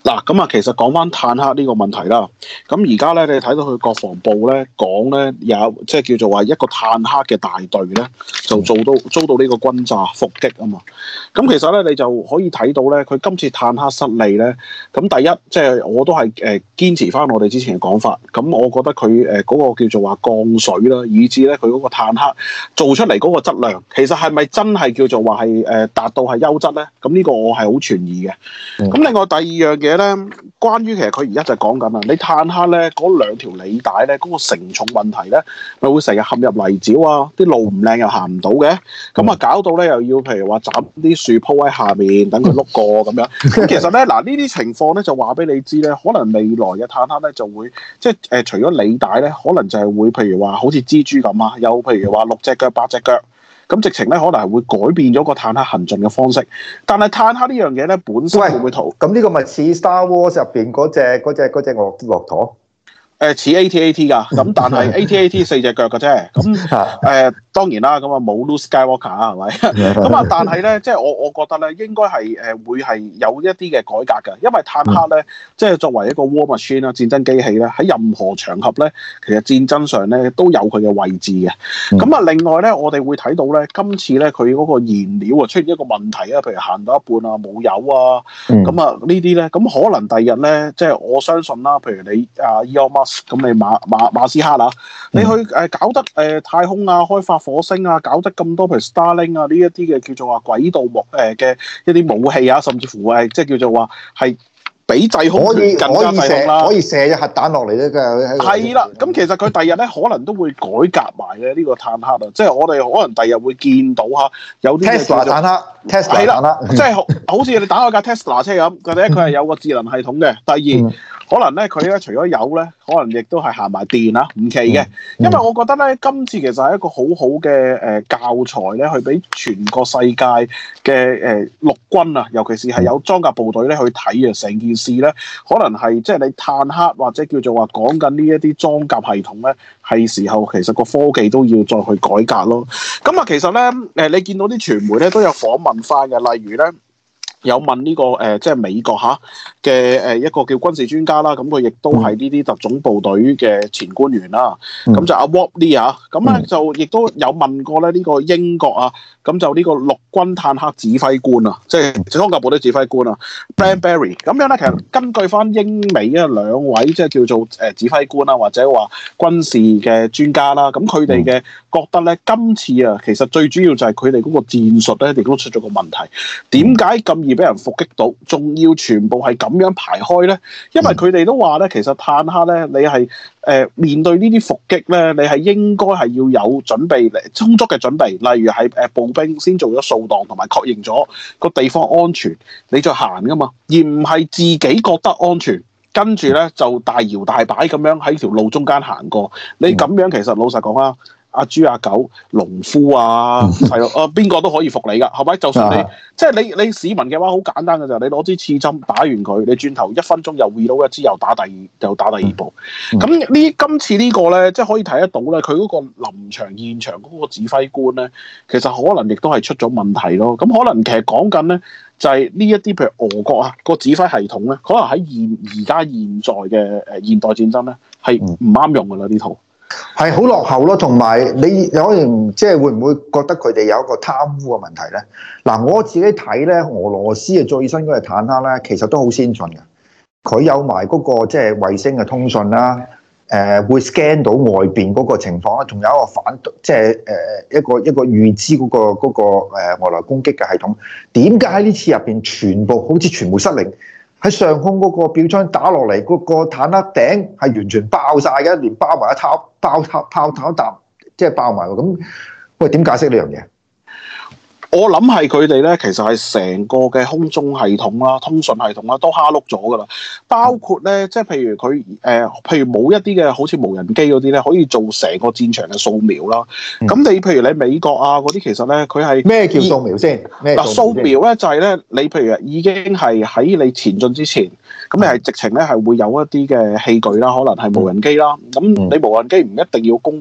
嗱，咁啊，其實講翻坦克呢個問題啦，咁而家咧，你睇到佢國防部咧講咧，有即係叫做話一個坦克嘅大隊咧，就做到遭到呢個轟炸伏擊啊嘛。咁其實咧，你就可以睇到咧，佢今次坦克失利咧，咁第一即係、就是、我都係誒堅持翻我哋之前嘅講法，咁我覺得佢誒嗰個叫做話降水啦，以至咧佢嗰個坦克做出嚟嗰個質量，其實係咪真係叫做話係誒達到係優質咧？咁呢個我係好存疑嘅。咁、嗯、另外第二樣嘢咧，關於其實佢而家就講緊啊，你坦克咧嗰兩條履帶咧嗰個承重問題咧，咪會成日陷入泥沼啊，啲路唔靚又行唔到嘅，咁啊搞到咧又要譬如話斬啲樹鋪喺下面等佢碌過咁樣。咁其實咧嗱呢啲情況咧就話俾你知咧，可能未來嘅坦克咧就會即係誒、呃、除咗履帶咧，可能就係會譬如話好似蜘蛛咁啊，有譬如話六隻腳八隻腳。咁直情咧，可能係會改變咗個坦克行進嘅方式。但係坦克呢樣嘢咧，本身會唔會逃？ 咁呢個咪似 Star Wars 入邊嗰隻嗰隻嗰隻駱駱駝？ 誒似 A T A T 㗎，咁但係 A T A T 四隻腳嘅啫。咁誒、呃、當然啦，咁啊冇 Luke Skywalker 啊，係咪？咁啊，但係咧，即係我我覺得咧，應該係誒會係有一啲嘅改革嘅，因為坦克咧，即係作為一個 war machine 啦，戰爭機器咧，喺任何場合咧，其實戰爭上咧都有佢嘅位置嘅。咁啊，另外咧，我哋會睇到咧，今次咧佢嗰個燃料啊出現一個問題啊，譬如行到一半啊冇油啊，咁啊呢啲咧，咁可能第日咧，即係我相信啦，譬如你啊 Elon Musk 咁你馬馬馬斯克啊，你去誒搞得誒、呃、太空啊，開發火星啊，搞得咁多譬如 Starlink 啊呢一啲嘅叫做話軌道木誒嘅一啲武器啊，甚至乎係即係叫做話係比制空權更加制空啦， 可以射隻核彈落嚟咧，嘅係啦。咁其實佢第日咧可能都會改革埋嘅呢個坦克啊，即係我哋可能第日會見到嚇有啲 Tesla 坦克，Tesla 坦克， 即係好似你打開架 Tesla 車咁，佢咧佢係有個智能系統嘅。第二。嗯可能咧，佢咧除咗有咧，可能亦都係行埋電啊，唔奇嘅。因為我覺得咧，今次其實係一個好好嘅誒教材咧，去俾全個世界嘅誒陸軍啊，尤其是係有裝甲部隊咧去睇啊，成件事咧，可能係即係你坦克或者叫做話講緊呢一啲裝甲系統咧，係時候其實個科技都要再去改革咯。咁啊，其實咧誒，你見到啲傳媒咧都有訪問翻嘅，例如咧。有問呢、這個誒、呃，即係美國嚇嘅誒一個叫軍事專家啦，咁佢亦都係呢啲特種部隊嘅前官員啦。咁、嗯、就阿 Wally 啊，咁咧就亦都有問過咧呢個英國啊，咁就呢個陸軍坦克指揮官啊，即係裝甲部隊指揮官啊 Bradbury。咁樣咧，其實根據翻英美啊兩位即係叫做誒指揮官啊，或者話軍事嘅專家啦，咁佢哋嘅覺得咧，今次啊，其實最主要就係佢哋嗰個戰術咧，亦都出咗個問題。點解咁俾人伏擊到，仲要全部係咁樣排開咧？因為佢哋都話咧，其實坦克咧，你係誒、呃、面對呢啲伏擊咧，你係應該係要有準備嚟充足嘅準備，例如係誒步兵先做咗掃蕩同埋確認咗個地方安全，你再行噶嘛，而唔係自己覺得安全，跟住咧就大搖大擺咁樣喺條路中間行過。你咁樣其實老實講啊。阿豬阿狗、農夫啊，係咯，啊邊個都可以服你噶，係咪？就算你即係你你市民嘅話，好簡單嘅就係你攞支刺針打完佢，你轉頭一分鐘又 reload 一支，又打第二，又打第二部。咁呢、嗯、今次呢個咧，即係可以睇得到咧，佢嗰個臨場現場嗰個指揮官咧，其實可能亦都係出咗問題咯。咁可能其實講緊咧，就係呢一啲譬如俄國啊個指揮系統咧，可能喺現而家現在嘅誒現代戰爭咧，係唔啱用噶啦呢套。 係好落後咯，同埋你有可能即係會唔會覺得佢哋有一個貪污嘅問題咧？嗱，我自己睇咧，俄羅斯嘅最新嗰隻坦克咧，其實都好先進嘅。佢有埋嗰個即係衛星嘅通訊啦，誒會 scan 到外邊嗰個情況啦，仲有一個反即係誒一個一個預知嗰個嗰個誒外來攻擊嘅系統。點解喺呢次入邊全部好似全部失靈？喺上空嗰個標槍打落嚟，嗰個坦克頂係完全爆晒嘅，連包埋一炮爆炮炮頭一啖，即係爆埋喎。咁喂，點解釋呢樣嘢？ 我諗係佢哋咧，其實係成個嘅空中系統啦、通訊系統啦，都蝦碌咗噶啦。包括咧，即係譬如佢誒、呃，譬如冇一啲嘅好似無人機嗰啲咧，可以做成個戰場嘅掃描啦。咁、嗯、你譬如你美國啊嗰啲，其實咧佢係咩叫掃描先？嗱，掃描咧就係咧，你譬如已經係喺你前進之前，咁你係直情咧係會有一啲嘅器具啦，可能係無人機啦。咁你無人機唔一定要攻擊。誒、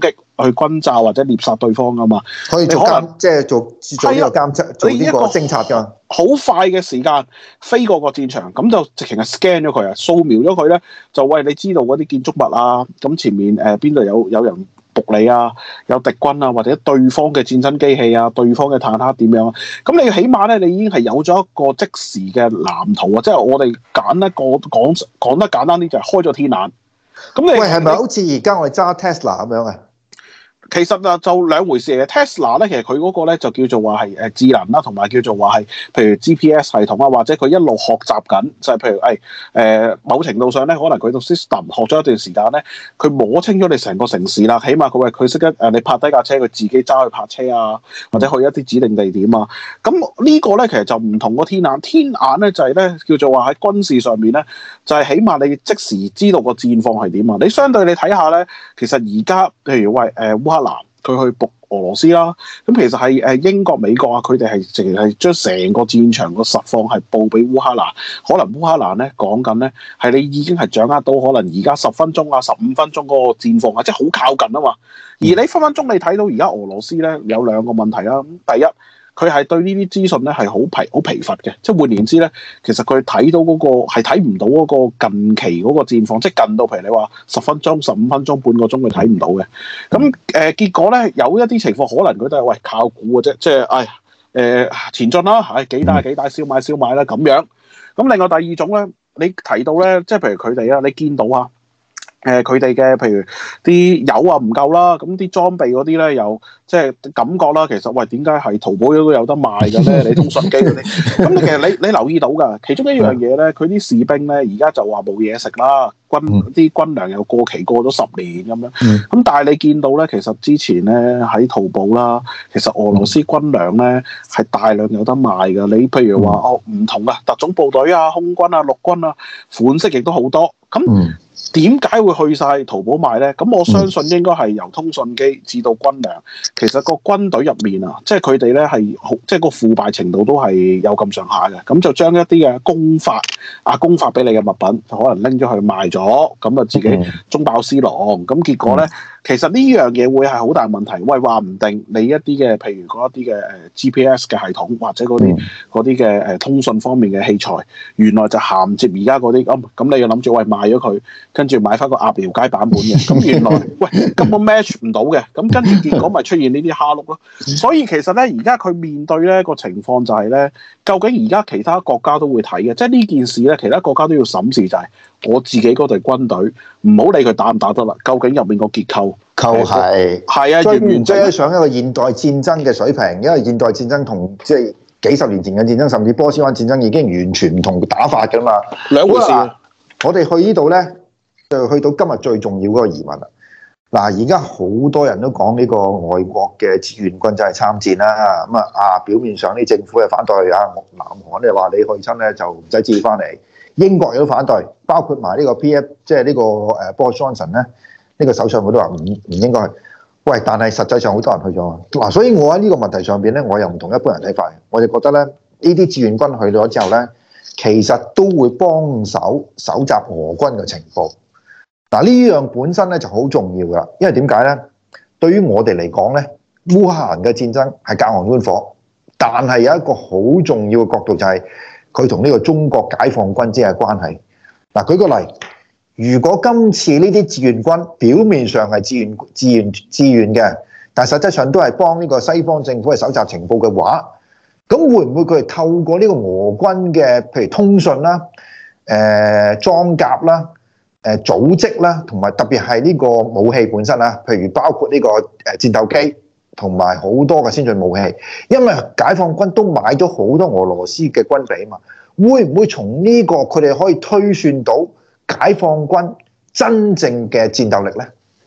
去轟炸或者獵殺對方噶嘛。 可以做監，即係做做呢個監測，做呢個偵察㗎。 好快嘅時間飛過個戰場，咁就直情係 scan 咗佢啊，掃描咗佢咧，就喂你知道嗰啲建築物啊，咁前面誒邊度有有人伏你啊，有敵軍啊，或者對方嘅戰爭機器啊，對方嘅坦克點樣啊？咁你起碼咧，你已經係有咗一個即時嘅藍圖啊！即係我哋揀一個講講得簡單啲，就係開咗天眼。咁你喂係咪好似而家我哋揸 Tesla 咁樣啊？ 其實啊，就兩回事嘅。Tesla 咧，其實佢嗰個咧就叫做話係誒智能啦，同埋叫做話係譬如 G P S 系統啊，或者佢一路學習緊，就係、是、譬如誒誒、哎、某程度上咧，可能佢個 system 學咗一段時間咧，佢摸清咗你成個城市啦，起碼佢話佢識得誒你泊低架車，佢自己揸去泊車啊，或者去一啲指定地點啊。咁呢個咧其實就唔同個天眼，天眼咧就係、是、咧叫做話喺軍事上面咧，就係、是、起碼你即時知道個戰況係點啊。你相對你睇下咧，其實而家譬如喂誒、呃、烏克蘭佢去伏俄羅斯啦，咁其實係誒英國、美國啊，佢哋係淨係將成個戰場個實況係報俾烏克蘭。可能烏克蘭咧講緊咧係你已經係掌握到可能而家十分鐘啊、十五分鐘嗰個戰況啊，即係好靠近啊嘛。而你分分鐘你睇到而家俄羅斯咧有兩個問題啦。咁第一，佢係對呢啲資訊咧係好疲好疲乏嘅，即係換言之咧，其實佢睇到嗰、嗰個係睇唔到嗰個近期嗰個戰況，即係近到譬如你話十分鐘、十五分鐘、半個鐘佢睇唔到嘅。咁誒、呃、結果咧有一啲情況可能佢都係喂靠估嘅啫，即係唉誒前進啦，係幾大幾大燒賣燒賣啦咁樣。咁另外第二種咧，你提到咧，即係譬如佢哋啊，你見到啊。誒佢哋嘅譬如啲油啊唔夠啦，咁啲裝備嗰啲咧又即係感覺啦，其實喂點解係淘寶都有得賣嘅咧？你通訊機嗰啲，咁其實你你留意到㗎，其中一樣嘢咧，佢啲士兵咧而家就話冇嘢食啦，軍啲軍糧又過期過咗十年咁樣，咁但係你見到咧，其實之前咧喺淘寶啦，其實俄羅斯軍糧咧係大量有得賣㗎。你譬如話哦唔同啊，特種部隊啊、空軍啊、陸軍啊，款式亦都好多咁。點解會去晒淘寶賣咧？咁我相信應該係由通訊機至到軍糧，其實個軍隊入面啊，即係佢哋咧係好，即係個腐敗程度都係有咁上下嘅。咁就將一啲嘅公發啊，公發俾你嘅物品，就可能拎咗去賣咗，咁啊自己中飽私囊。咁結果咧，其實呢樣嘢會係好大問題。喂，話唔定你一啲嘅，譬如嗰一啲嘅誒 G P S 嘅系統，或者嗰啲嗰啲嘅誒通訊方面嘅器材，原來就銜接而家嗰啲咁，咁你又諗住喂賣咗佢？跟住買翻個鴨寮街版本嘅，咁原來喂根本 match 唔到嘅，咁跟住結果咪出現呢啲蝦碌咯。所以其實咧，而家佢面對咧個情況就係咧，究竟而家其他國家都會睇嘅，即係呢件事咧，其他國家都要審視就係我自己嗰隊軍隊，唔好理佢打唔打得啦，究竟入面個結構構係係啊， 追完唔追上一個現代戰爭嘅水平，因為現代戰爭同即係幾十年前嘅戰爭，甚至波斯灣戰爭已經完全唔同打法㗎嘛， 兩回事。 我哋去呢度咧。就去到今日最重要嗰個疑問啦！嗱，而家好多人都講呢個外國嘅志願軍就係參戰啦，咁啊啊表面上啲政府係反對啊，南韓咧話你去親咧就唔使自己翻嚟，英國亦都反對，包括埋呢個 P F 即係呢個誒 Boris Johnson 咧，呢個首相佢都話唔唔應該去。喂，但係實際上好多人去咗嗱，所以我喺呢個問題上邊咧，我又唔同一般人睇法，我就覺得咧呢啲志願軍去咗之後咧，其實都會幫手搜集俄軍嘅情報。嗱，呢樣本身咧就好重要噶，因為點解咧？對於我哋嚟講咧，烏克蘭嘅戰爭係隔岸觀火，但係有一個好重要嘅角度就係佢同呢個中國解放軍之間嘅關係。嗱，舉個例，如果今次呢啲志願軍表面上係志願、志願、志願嘅，但係實際上都係幫呢個西方政府去搜集情報嘅話，咁會唔會佢係透過呢個俄軍嘅譬如通訊啦、誒、呃、裝甲啦？誒組織啦，同埋特別係呢個武器本身啦，譬如包括呢個誒戰鬥機同埋好多嘅先進武器，因為解放軍都買咗好多俄羅斯嘅軍備啊嘛，會唔會從呢個佢哋可以推算到解放軍真正嘅戰鬥力咧？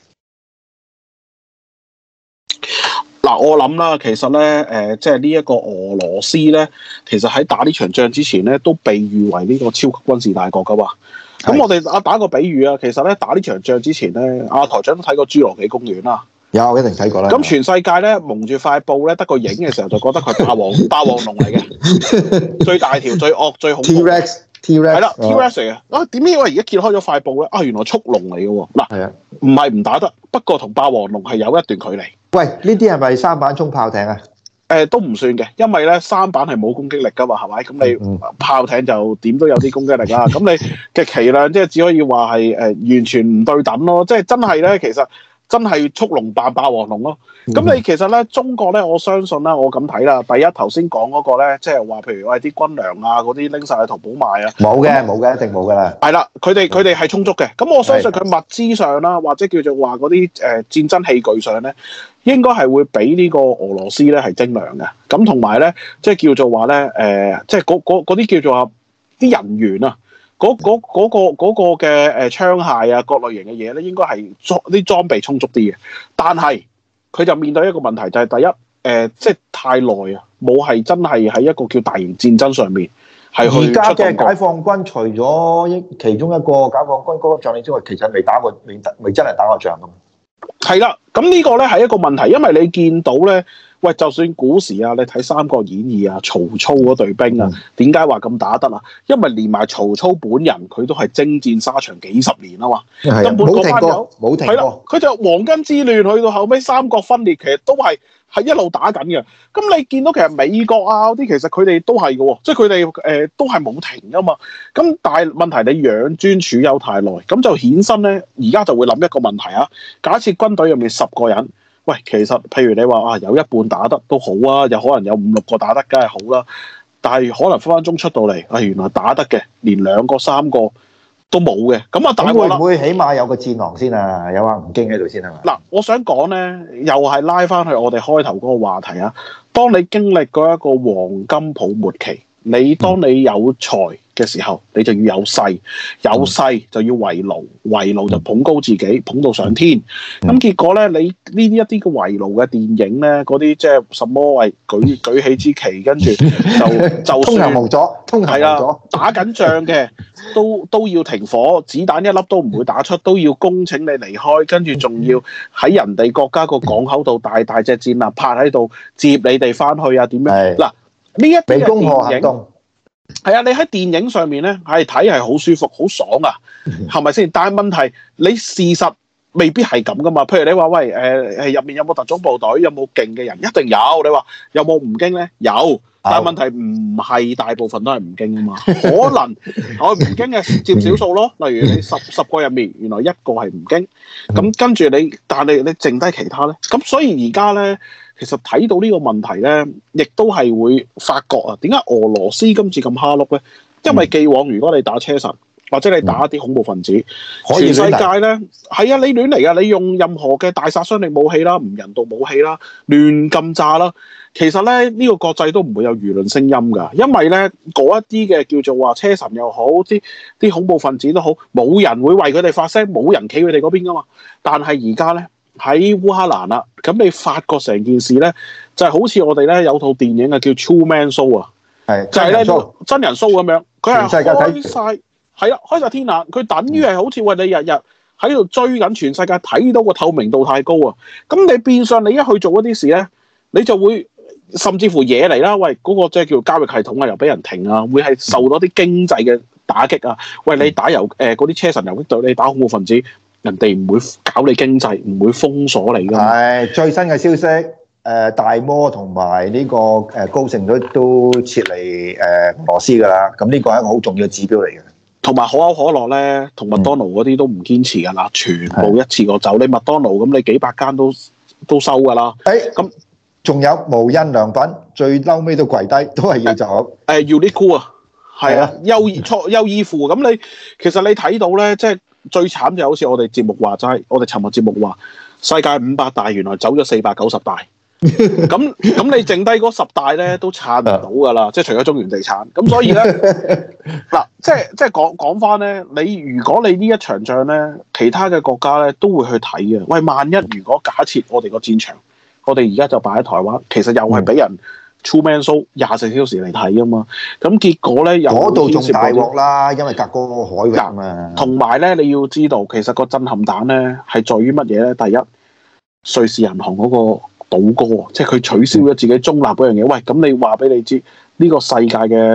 嗱，我諗啦，其實咧，誒、呃，即係呢一個俄羅斯咧，其實喺打呢場仗之前咧，都被譽為呢個超級軍事大國噶嘛。咁是我哋打打個比喻啊，其實咧打呢場仗之前咧，阿台長都睇過侏羅紀公園啦。有，一定睇過啦。咁全世界咧蒙住塊布咧，得個影嘅時候就覺得佢係霸王霸王龍嚟嘅，最大條、最惡、最恐怖。T-Rex T-Rex 係啦 T-Rex 嚟嘅。啊點解我而家揭開咗塊布咧？啊原來速龍嚟嘅喎。嗱係啊， 唔係唔打得，不過同霸王龍係有一段距離。 喂，呢啲係咪三板衝炮艇啊？ 誒、呃、都唔算嘅，因為咧三板係冇攻擊力噶嘛，係咪？咁你、嗯、炮艇就點都有啲攻擊力啦。咁你嘅旗量即係只可以話係誒完全唔對等咯。即係真係咧，其實真係速龍扮霸王龍咯。咁、嗯、你其實咧中國咧，我相信啦，我咁睇啦。第一頭先講嗰個咧，即係話譬如話啲軍糧啊嗰啲拎晒去淘寶賣啊，冇嘅冇嘅，一定冇噶啦。 係啦，佢哋佢哋係充足嘅。咁我相信佢物資上啦，或者叫做話嗰啲誒戰爭器具上咧，應該係會比呢個俄羅斯咧係精良嘅。咁同埋咧，即係叫做話咧，誒、呃，即係嗰啲叫做話啲人員啊，嗰嗰嗰個嗰、嗰個嘅誒槍械啊，各類型嘅嘢咧，應該係裝啲裝備充足啲嘅。但係佢就面對一個問題，就係、是、第一，誒、呃，即係太耐啊，冇係真係喺一個叫大型戰爭上面係去。而家嘅解放軍除咗其中一個解放軍嗰個將領之外，其實未打過，未未真係打過仗㗎嘛。係啦，咁呢個咧係一個問題，因為你見到咧，喂，就算古時啊，你睇《三國演義》啊，曹操嗰隊兵啊，點解話咁打得啊？因為連埋曹操本人，佢都係征戰沙場幾十年啊嘛，根本嗰班友冇停過，係啦，佢就黃巾之亂去到後尾三國分裂，其實都係係一路打緊嘅。咁你見到其實美國啊嗰啲，其實佢哋都係嘅喎，即係佢哋誒都係冇停噶嘛。咁但係問題你養尊處優太耐，咁就衍生咧，而家就會諗一個問題啊。假設軍隊入面十個人，喂，其實譬如你話啊，有一半打得都好啊，有可能有五六個打得，梗係好啦。但係可能分分鐘出到嚟，啊，原來打得嘅連兩個三個都冇嘅。咁啊，大鑊啦！會唔會起碼有個戰狼先啊？有阿吳京喺度先係嘛？嗱，我想講咧，又係拉翻去我哋開頭嗰個話題啊。當你經歷過一個黃金泡沫期，你當你有財嘅時候，你就要有勢，有勢就要圍爐，圍爐就捧高自己，捧到上天。咁結果咧，你呢啲一啲嘅圍爐嘅電影咧，嗰啲即係什麼為舉舉起支旗，跟住就就通行無阻，通行無阻，打緊仗嘅都都要停火，子彈一粒都唔會打出，都要恭請你離開，跟住仲要喺人哋國家個港口度大大隻戰艦泊喺度接你哋翻去啊？點樣？嗱，呢一啲嘅電影。係啊，你喺電影上面咧，係睇係好舒服、好爽啊，係咪先？但係問題，你事實未必係咁噶嘛。譬如你話喂，誒誒入面有冇特種部隊，有冇勁嘅人？一定有。你話有冇吳京咧？有。但係問題唔係大部分都係吳京啊嘛。可能我吳京嘅佔少數咯。例如你十十個入面，原來一個係吳京，咁跟住你，但係你你剩低其他咧。咁所以而家咧。其實睇到呢個問題咧，亦都係會發覺啊，點解俄羅斯今次咁蝦碌咧？因為既往如果你打車臣或者你打一啲恐怖分子，嗯、全世界咧係啊，你亂嚟啊！你用任何嘅大殺傷力武器啦、唔人道武器啦、亂咁炸啦，其實咧呢、呢個國際都唔會有輿論聲音㗎，因為咧嗰一啲嘅叫做話車臣又好，啲啲恐怖分子都好，冇人會為佢哋發聲，冇人企佢哋嗰邊㗎嘛。但係而家咧。喺烏克蘭啦，咁你發覺成件事咧，就係、是、好似我哋咧有套電影啊，叫 True Man Show 啊，係就係咧真人 show 咁樣，佢係開晒係啦，開晒天眼，佢等於係好似喂你日日喺度追緊全世界，睇到個透明度太高啊，咁你變相你一去做一啲事咧，你就會甚至乎惹嚟啦，喂嗰、那個即係叫交易系統啊，又俾人停啊，會係受到啲經濟嘅打擊啊，喂你打遊誒嗰啲車臣遊擊隊，你打恐怖分子。人哋唔會搞你經濟，唔會封鎖你㗎。係最新嘅消息，誒、呃、大摩同埋呢個誒高盛都都撤離誒俄羅斯㗎啦。咁呢個係一個好重要嘅指標嚟嘅。同埋可口可樂咧，同麥當勞嗰啲都唔堅持㗎啦，全部一次過走。你麥當勞咁，你幾百間都都收㗎啦。誒咁仲有無印良品，最嬲尾都跪低，都係要走。誒 Uniqlo 啊，係啊，優衣錯優衣庫。咁你其實你睇到咧，即係。最慘就好似我哋節目話齋，我哋尋日節目話世界五百大原來走咗四百九十大，咁咁你剩低嗰十大咧都撐唔到㗎啦，即係除咗中原地產，咁所以咧嗱，即係即係講講翻咧，你如果你呢一場仗咧，其他嘅國家咧都會去睇嘅。喂，萬一如果假設我哋個戰場，我哋而家就擺喺台灣，其實又係俾人。True Man Show 廿四小時嚟睇啊嘛，咁結果咧又嗰度仲大鑊啦，因為隔嗰個海域啊嘛。同埋咧，你要知道，其實個震撼彈咧係在於乜嘢咧？第一，瑞士銀行嗰個倒戈，即係佢取消咗自己中立嗰樣嘢。喂，咁你話俾你知，呢、呢個世界嘅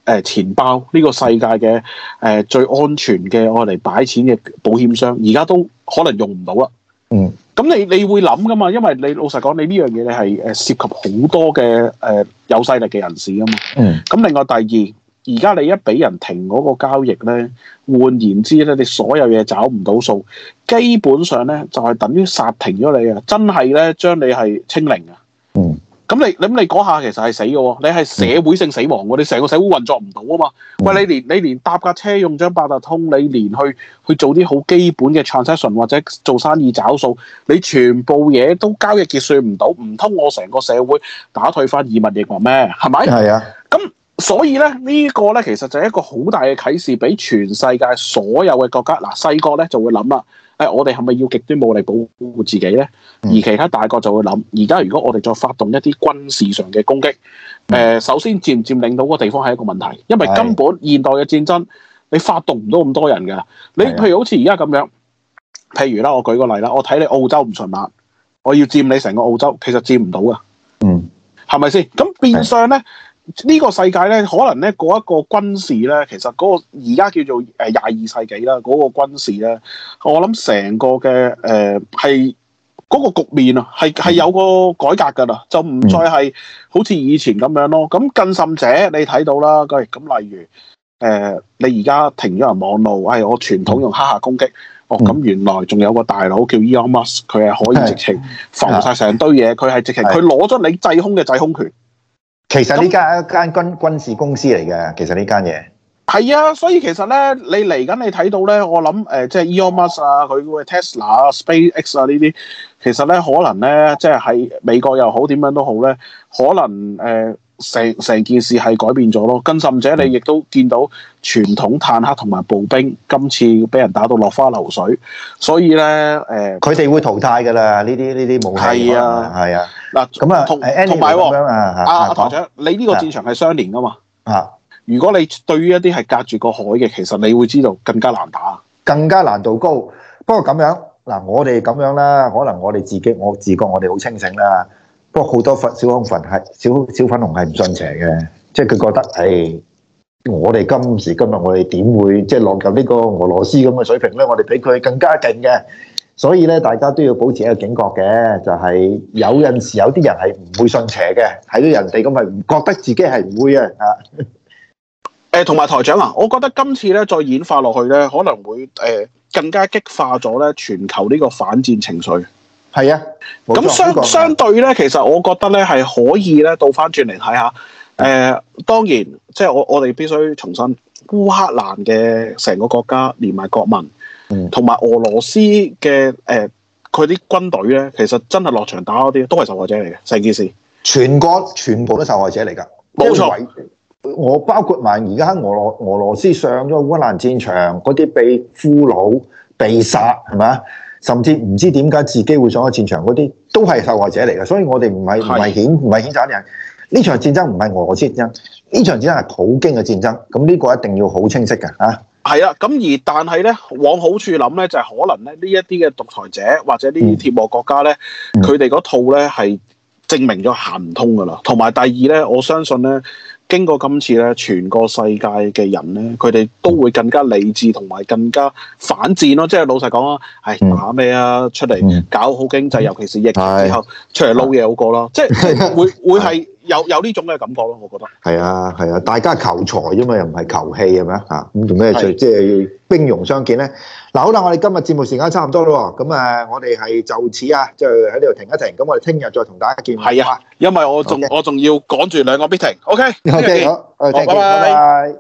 誒錢包呢個世界嘅誒、呃、最安全嘅我嚟擺錢嘅保險箱，而家都可能用唔到啦。 嗯， 咁你你會諗噶嘛？因為你老實講，你呢樣嘢你係誒涉及好多嘅誒、呃、有勢力嘅人士噶嘛。 嗯。 咁另外第二，而家你一俾人停嗰個交易咧，換言之咧，你所有嘢找唔到數，基本上咧就係、是、等於殺停咗你啊！真係咧將你係清零啊！ 嗯。 咁你咁你嗰下其實係死嘅喎，你係社會性死亡喎，你成個社會運作唔到啊嘛。喂，你連你連搭架車用張八達通，你連去去做啲好基本嘅 transaction 或者做生意找數，你全部嘢都交易結算唔到，唔通我成個社會打退翻以物易物咩？係咪？ 係啊。咁所以咧呢、這個咧其實就係一個好大嘅啟示，俾全世界所有嘅國家。嗱，細國咧就會諗啦。誒，我哋係咪要極端武力保護自己咧？而其他大國就會諗，而家如果我哋再發動一啲軍事上嘅攻擊，誒、呃，首先佔唔佔領到個地方係一個問題，因為根本現代嘅戰爭你發動唔到咁多人㗎。你譬如好似而家咁樣，譬如啦，我舉個例啦，我睇你澳洲唔順眼，我要佔你成個澳洲，其實佔唔到㗎。嗯，係咪先？咁變相咧。呢個世界咧，可能咧嗰一個軍事咧，其實嗰個而家叫做誒廿二世紀啦，嗰、那個軍事咧，我諗成個嘅誒係嗰個局面啊，係係有個改革㗎啦，就唔再係好似以前咁樣咯。咁更甚者，你睇到啦，咁咁例如誒、呃，你而家停咗人網路，係、哎、我傳統用黑客攻擊，哦咁原來仲有個大佬叫 Elon Musk，佢係可以直情浮晒成堆嘢，佢係直情佢攞咗你制空嘅制空權。 其實呢間係一間軍軍事公司嚟嘅，其實呢間嘢係啊，所以其實咧，你嚟緊你睇到咧，我諗誒、呃，即係 Elon Musk 啊，佢嘅 Tesla 啊、SpaceX 啊呢啲，其實咧可能咧，即係喺美國又好點樣都好咧，可能誒成成件事係改變咗咯。更甚者，你亦都見到傳統坦克同埋步兵今次俾人打到落花流水，所以咧誒， 佢哋會淘汰㗎啦。呢啲呢啲武器係啊，係啊。嗱咁啊，同同埋喎，阿阿台長，你呢個戰場係相連㗎嘛？啊，如果你對於一啲係隔住個海嘅，其實你會知道更加難打， 更加難度高。不過咁樣嗱，我哋咁樣啦，可能我哋自己我自覺我哋好清醒啦。不過好多粉小粉紅係小小粉紅係唔信邪嘅，即係佢覺得誒，我哋今時今日我哋點會即係落入呢個俄羅斯咁嘅水平咧？我哋比佢更加勁嘅。所以咧，大家都要保持一個警覺嘅，就係、是、有陣時有啲人係唔會信邪嘅，睇到人哋咁咪唔覺得自己係唔會啊！啊， 誒同埋台長啊，我覺得今次咧再演化落去咧，可能會誒、呃、更加激化咗咧全球呢個反戰情緒。係啊，咁相相對咧，其實我覺得咧係可以咧倒翻轉嚟睇下。誒、呃、當然，即係我我哋必須重申，烏克蘭嘅成個國家連埋國民。同埋俄羅斯嘅誒，佢啲軍隊咧，其實真係落場打嗰啲都係受害者嚟嘅，成件事。全國全部都受害者嚟㗎，冇錯。我包括埋而家喺俄羅俄羅斯上咗烏克蘭戰場嗰啲被俘虜、被殺係咪啊？甚至唔知點解自己會上咗戰場嗰啲，都係受害者嚟嘅。所以我哋唔係唔係譴唔係譴責人。呢場戰爭唔係俄羅斯戰爭，呢場戰爭係普京嘅戰爭。咁呢個一定要好清晰嘅嚇。係啊，咁而但係咧，往好處諗咧，就係、是、可能咧呢一啲嘅獨裁者或者呢啲鐵幕國家咧，佢哋嗰套咧係證明咗行唔通噶啦。同埋第二咧，我相信咧，經過今次咧，全個世界嘅人咧，佢哋都會更加理智同埋更加反戰咯。即係老實講啊，係打咩啊？出嚟搞好經濟，尤其是疫情之後出嚟撈嘢好過啦。即係會會係。有有呢種嘅感覺咯，我覺得係啊係啊，大家求財啫嘛，又唔係求氣係咪啊？嚇咁做咩最即係兵戎相見咧？嗱好啦，我哋今日節目時間差唔多咯喎，咁誒我哋係就此啊，即係喺呢度停一停，咁我哋聽日再同大家見面。係啊，因為我仲我仲要趕住兩個 meeting。OK OK 好，好拜拜。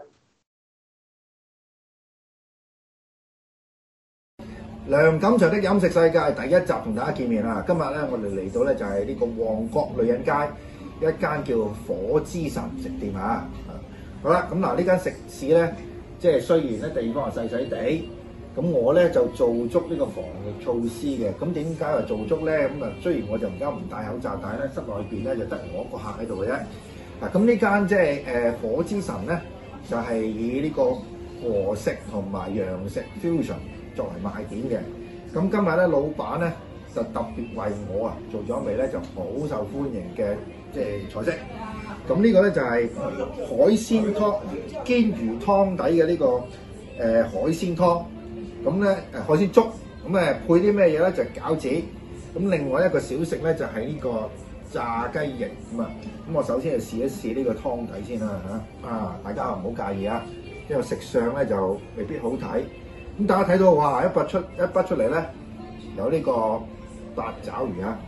梁錦祥的飲食世界第一集同大家見面啦！今日咧我哋嚟到咧就係呢個旺角女人街。一間叫火之神食店啊，好啦，咁嗱呢間食肆咧，即係雖然咧地方係細細地，咁我咧就做足呢個防疫措施嘅。咁點解話做足咧？咁啊，雖然我就而家唔戴口罩，但係咧室內邊咧就得我一個客喺度嘅啫。嗱，咁呢間即係誒火之神咧，就係、是、以呢個和食同埋洋食 fusion 作為賣點嘅。咁今日咧，老闆咧就特別為我啊做咗一味咧就好受歡迎嘅。即係菜式， 咁呢個咧就係海鮮湯煎魚湯底嘅呢、這個誒、呃、海鮮湯。咁咧誒海鮮粥，咁誒配啲咩嘢咧？就係、餃子。咁另外一個小食咧就係、是、呢個炸雞翼咁啊。咁我首先就試一試呢個湯底先啦嚇。啊，大家唔好介意啊，因為食相咧就未必好睇。咁大家睇到哇，一筆出一筆出嚟咧，有呢個八爪魚啊，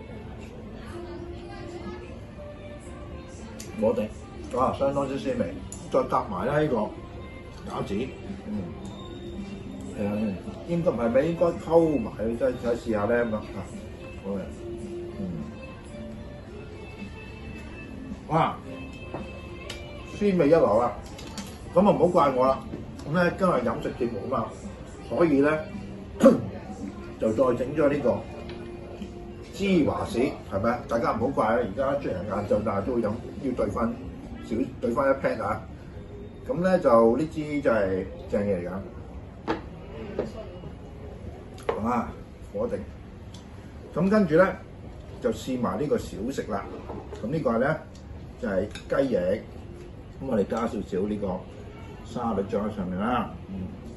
我哋哇相當之鮮味，再夾埋咧呢個餃子，嗯，係啊，應該唔係咩？應該溝埋，再再試下咧咁啊，好嘅，嗯，哇，鮮味一流啊！咁啊唔好怪我啦。咁咧今日飲食節目啊嘛，所以咧就再整咗呢個芝華士，係咪啊？大家唔好怪啊！而家雖然晏晝，但係都會飲，要兌翻少兌翻一 pat 啊！咁咧就呢支就係正嘢嚟㗎，啊火定。咁跟住咧就試埋呢個小食啦。咁呢個咧就係、是、雞翼，咁我哋加少少呢個沙律醬喺上面啦。嗯，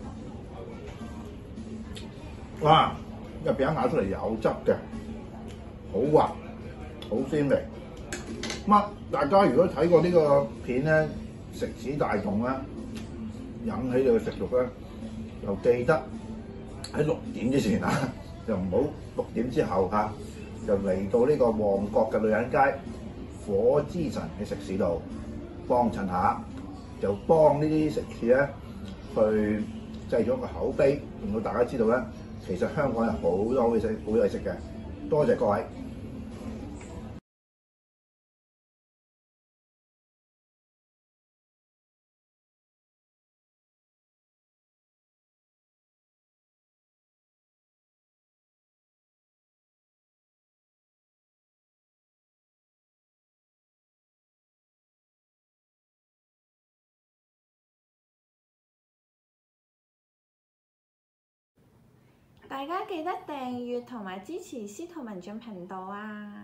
哇！入邊一咬出嚟有汁嘅，好滑，好鮮味。咁啊，大家如果睇過呢個片咧，食指大動啦，引起你嘅食慾咧，就記得喺六點之前啊，就唔好六點之後嚇，就嚟到呢個旺角嘅女人街火之神嘅食肆度幫襯下，就幫呢啲食肆咧去製咗個口碑，令到大家知道咧，其實香港有好多好嘢食，好嘢食嘅。多謝各位。 大家記得訂閱同埋支持司徒文進頻道啊！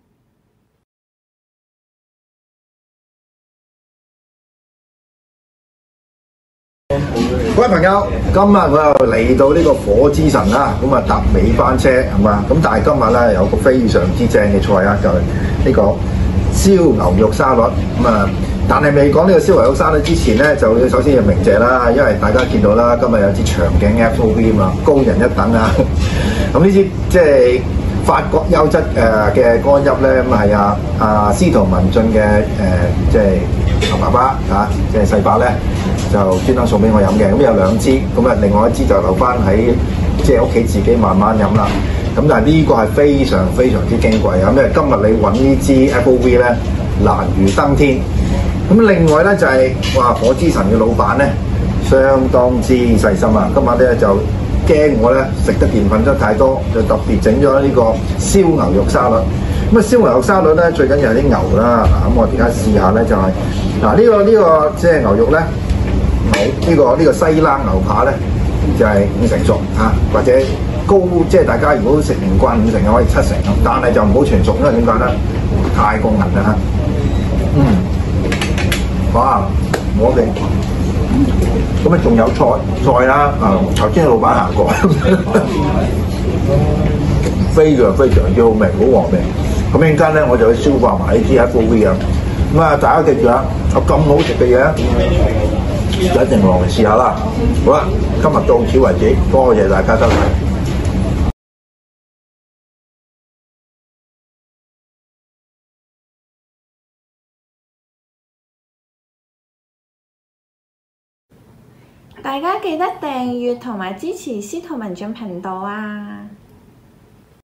各位朋友，今日我又嚟到呢個火之神啦，咁啊搭尾班車係嘛？咁但係今日咧有個非常之正嘅菜啊，就係、是、呢個燒牛肉沙律咁啊！但係未講呢個燒牛肉沙律之前咧，就要首先要鳴謝啦，因為大家見到啦，今日有支長頸 F O V 啊嘛，高人一等啊！咁呢支即係法國優質誒嘅乾邑咧，咁係啊啊司徒文進嘅誒即係阿爸爸嚇，即係細伯咧就專登送俾我飲嘅，咁有兩支，咁啊另外一支就留翻喺即係屋企自己慢慢飲啦。咁但係呢個係非常非常之矜貴啊！因為今日你揾呢支 F O V 咧難如登天。咁另外咧就係、是、哇火之神嘅老闆咧相當之細心啊！今日咧就驚我咧食得澱粉質太多，就特別整咗呢個燒牛肉沙律。咁啊燒牛肉沙律咧最緊要係啲牛啦。嗱咁我而家試下咧就係嗱呢個呢、這個即係牛肉咧牛呢、這個呢、這個西冷牛扒咧就係、是、五成熟嚇、啊，或者高即係大家如果食唔慣五成嘅可以七成，但係就唔好全熟，因為點解咧太過韌啦嚇。嗯。哇！我哋咁啊，仲有菜菜啦，啊頭先老闆行過，非常非常之好味，好和味。咁一陣間咧，我就去消化埋呢啲 F O V 啊。咁啊，大家記住啊，有咁好食嘅嘢，一定落嚟試下啦。好啦，今日到此為止，多謝大家收睇。 大家記得訂閱同埋支持司徒文進頻道啊！